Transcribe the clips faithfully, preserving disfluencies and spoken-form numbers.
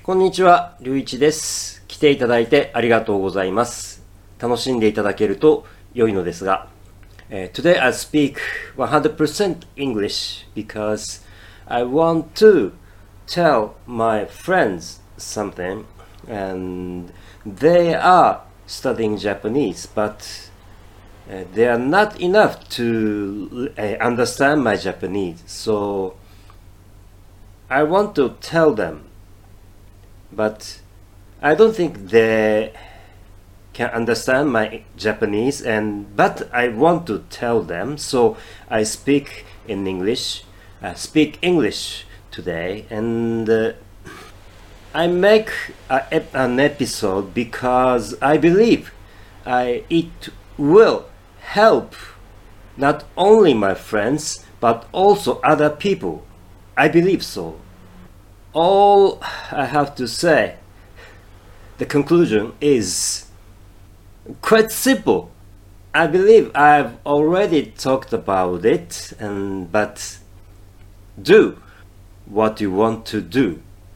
こんにちは、りゅういちです。来ていただいてありがとうございます。楽しんでいただけると良いのですが、uh, Today I speak one hundred percent English because I want to tell my friends something and they are studying Japanese but uh, they are not enough to uh, understand my Japanese, so I want to tell them, but I don't think they can understand my Japanese, and but I want to tell them, so I speak in English. I speak English today, and uh, I make a, an episode because I believe I, it will help not only my friends but also other people. I believe so. All I have to say, the conclusion is quite simple. I believe I've already talked about it, and but do what you want to do.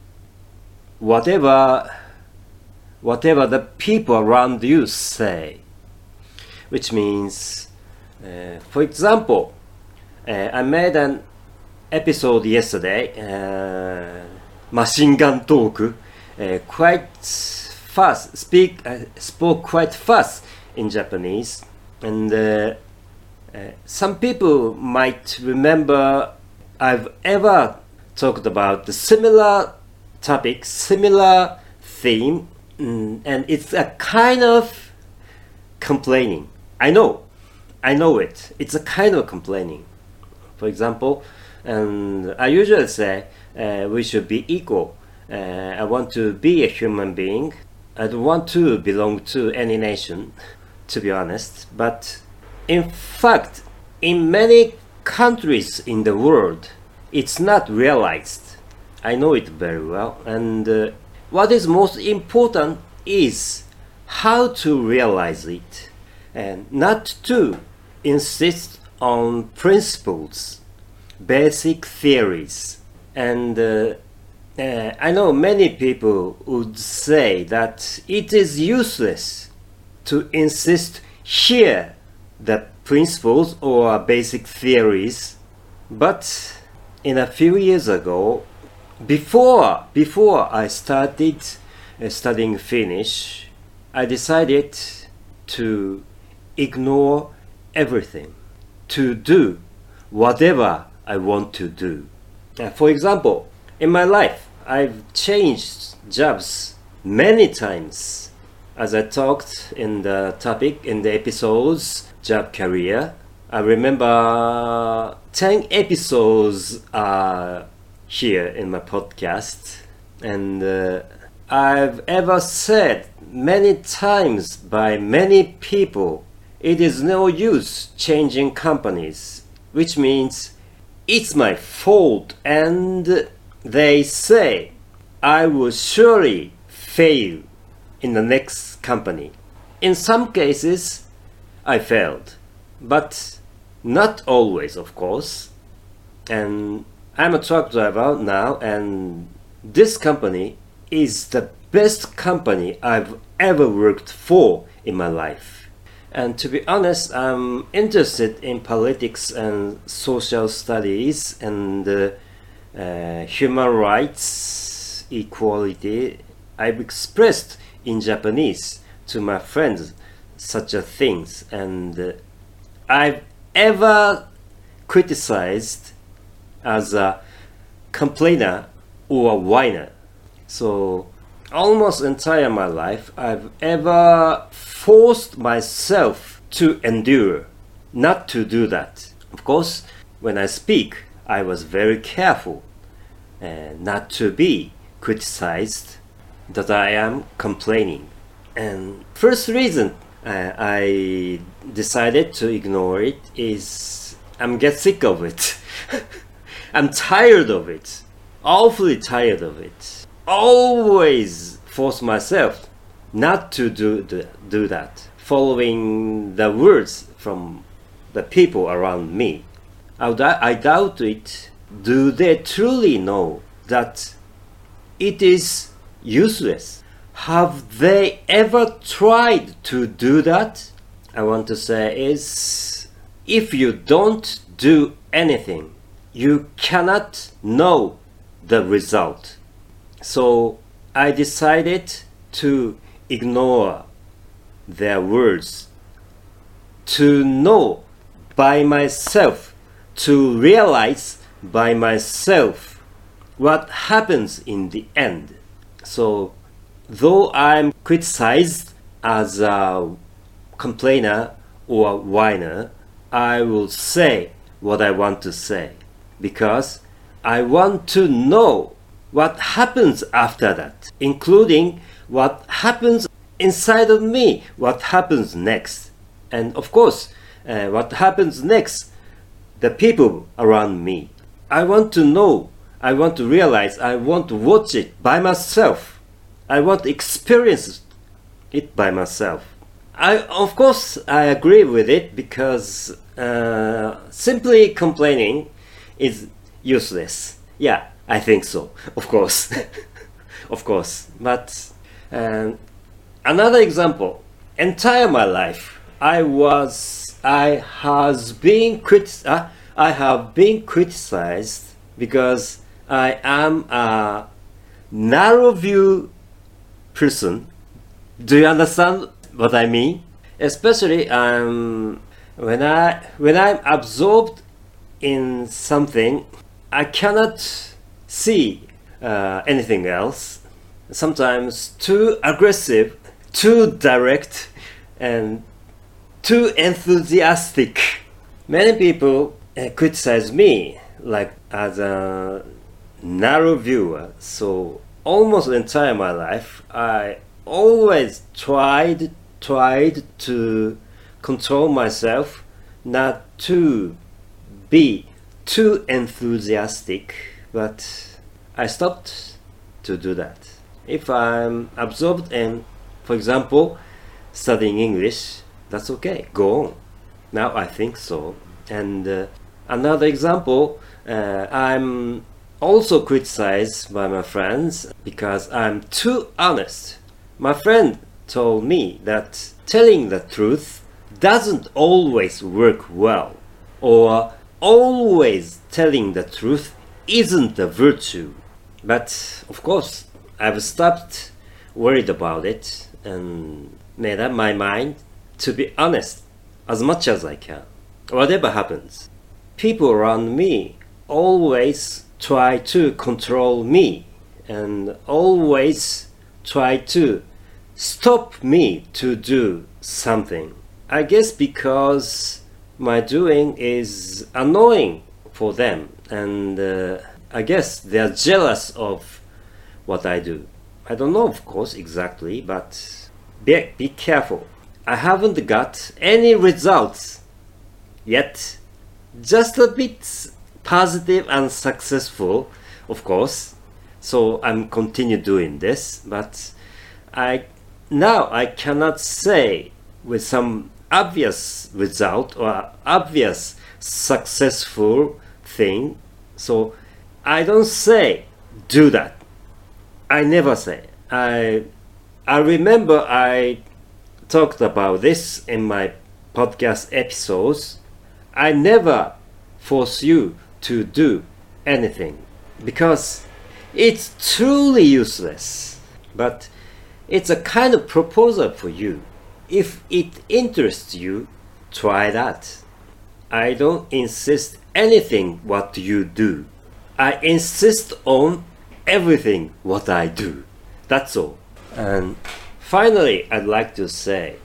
Whatever whatever the people around you say, which means, uh, for example, uh, I made an episode yesterday, uh, machine gun talk, uh, quite fast, speak, uh, spoke quite fast in Japanese, and uh, uh, some people might remember I've ever talked about the similar topic, similar theme, mm, and it's a kind of complaining. I know, I know it. It's a kind of complaining. For example, and I usually say uh, we should be equal. Uh, I want to be a human being. I don't want to belong to any nation, to be honest. But in fact, in many countries in the world, it's not realized. I know it very well. And uh, what is most important is how to realize it, and not to insist on principles, basic theories. And uh, uh, I know many people would say that it is useless to insist here the principles or basic theories. But in a few years ago, before before I started uh, studying Finnish, I decided to ignore everything, to do whatever I want to do. Uh, for example, in my life, I've changed jobs many times. As I talked in the topic, in the episodes, job career, I remember ten episodes are here in my podcast, and uh, I've ever said many times by many people, it is no use changing companies, which means it's my fault, and they say I will surely fail in the next company. In some cases, I failed, but not always, of course. And I'm a truck driver now, and this company is the best company I've ever worked for in my life. And to be honest, I'm interested in politics and social studies and uh, uh, human rights, equality. I've expressed in Japanese to my friends such a things, and uh, I've ever criticized as a complainer or a whiner. So almost entire my life, I've ever forced myself to endure, not to do that. Of course, when I speak, I was very careful uh, not to be criticized that I am complaining. And first reason uh, I decided to ignore it is I'm get sick of it. I'm tired of it, awfully tired of it. Always force myself not to do the, do that, following the words from the people around me. I, I doubt it. Do they truly know that it is useless. Have they ever tried to do that? I want to say is, if you don't do anything, you cannot know the result. So I decided to ignore their words, to know by myself, to realize by myself what happens in the end. So though I'm criticized as a complainer or whiner, I will say what I want to say, because I want to know what happens after that, including what happens inside of me, what happens next. And of course, uh, what happens next, the people around me. I want to know, I want to realize, I want to watch it by myself. I want to experience it by myself. I, of course, I agree with it, because uh, simply complaining is useless. Yeah, I think so, of course. Of course. But um, another example, entire my life, I was, I has been critic, uh, I have been criticized because I am a narrow view person. Do you understand what I mean? Especially um, when I when I'm absorbed in something, I cannot see uh, anything else. Sometimes too aggressive, too direct, and too enthusiastic. Many people uh, criticize me like as a narrow viewer. So almost the entire my life, I always tried tried to control myself not to be too enthusiastic, but I stopped to do that. If I'm absorbed in, for example, studying English, that's okay, go on. Now I think so. And uh, another example, uh, I'm also criticized by my friends because I'm too honest. My friend told me that telling the truth doesn't always work well, or always telling the truth isn't a virtue. But of course, I've stopped worried about it and made up my mind to be honest as much as I can, whatever happens. People around me always try to control me and always try to stop me to do something. I guess because my doing is annoying for them, and uh, I guess they're jealous of what I do. I don't know, of course, exactly, but be, be careful. I haven't got any results yet. Just a bit positive and successful, of course. So I'm continue doing this, but I now I cannot say with some obvious result or obvious successful thing. So I don't say do that. I never say. I I remember I talked about this in my podcast episodes. I never force you to do anything because it's truly useless. But it's a kind of proposal for you. If it interests you, try that. I don't insist anything what you do. I insist on everything what I do. That's all. And finally, I'd like to say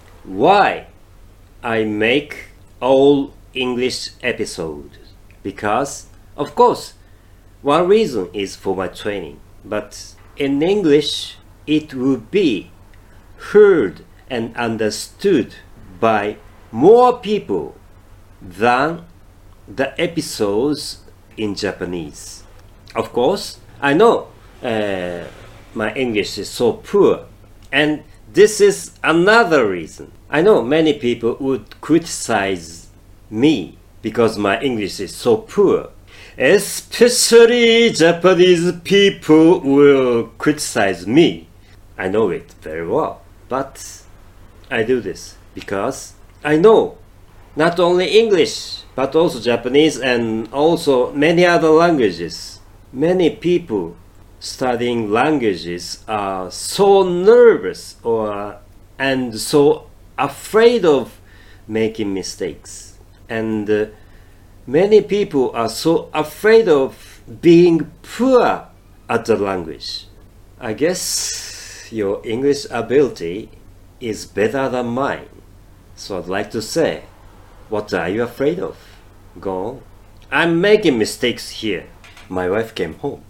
why I make all English episodes. Because, of course, one reason is for my training. But in English, it will be heard and understood by more people than the episodes in Japanese. Of course, I know uh, my English is so poor, and this is another reason. I know many people would criticize me because my English is so poor, Especially Japanese people will criticize me. I know it very well, but I do this because I know not only English, but also Japanese and also many other languages. Many people studying languages are so nervous or and so afraid of making mistakes. And uh, many people are so afraid of being poor at the language. I guess your English ability is better than mine. So I'd like to say, what are you afraid of? Go on. I'm making mistakes here. My wife came home.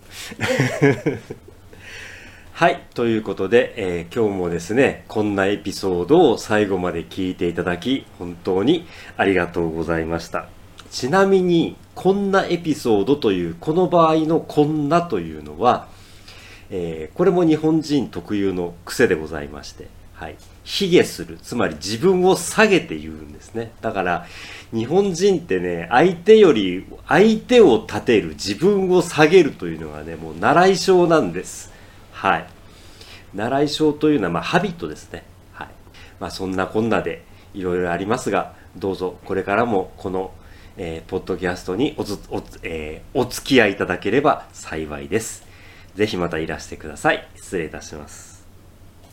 はい、ということで、えー、今日もですね、こんなエピソードを最後まで聞いていただき、本当にありがとうございました。ちなみに、こんなエピソードという、この場合のこんなというのは、えー、これも日本人特有の癖でございまして、はい、卑下する、つまり自分を下げて言うんですね。だから、日本人ってね、相手より、相手を立てる、自分を下げるというのがね、もう習い性なんです。はい。習い性というのは、まあ、ハビットですね。はい。まあ、そんなこんなでいろいろありますが、どうぞこれからもこの、えー、ポッドキャストにおつおつ、えー、お付き合いいただければ幸いです。ぜひまたいらしてください。失礼いたします。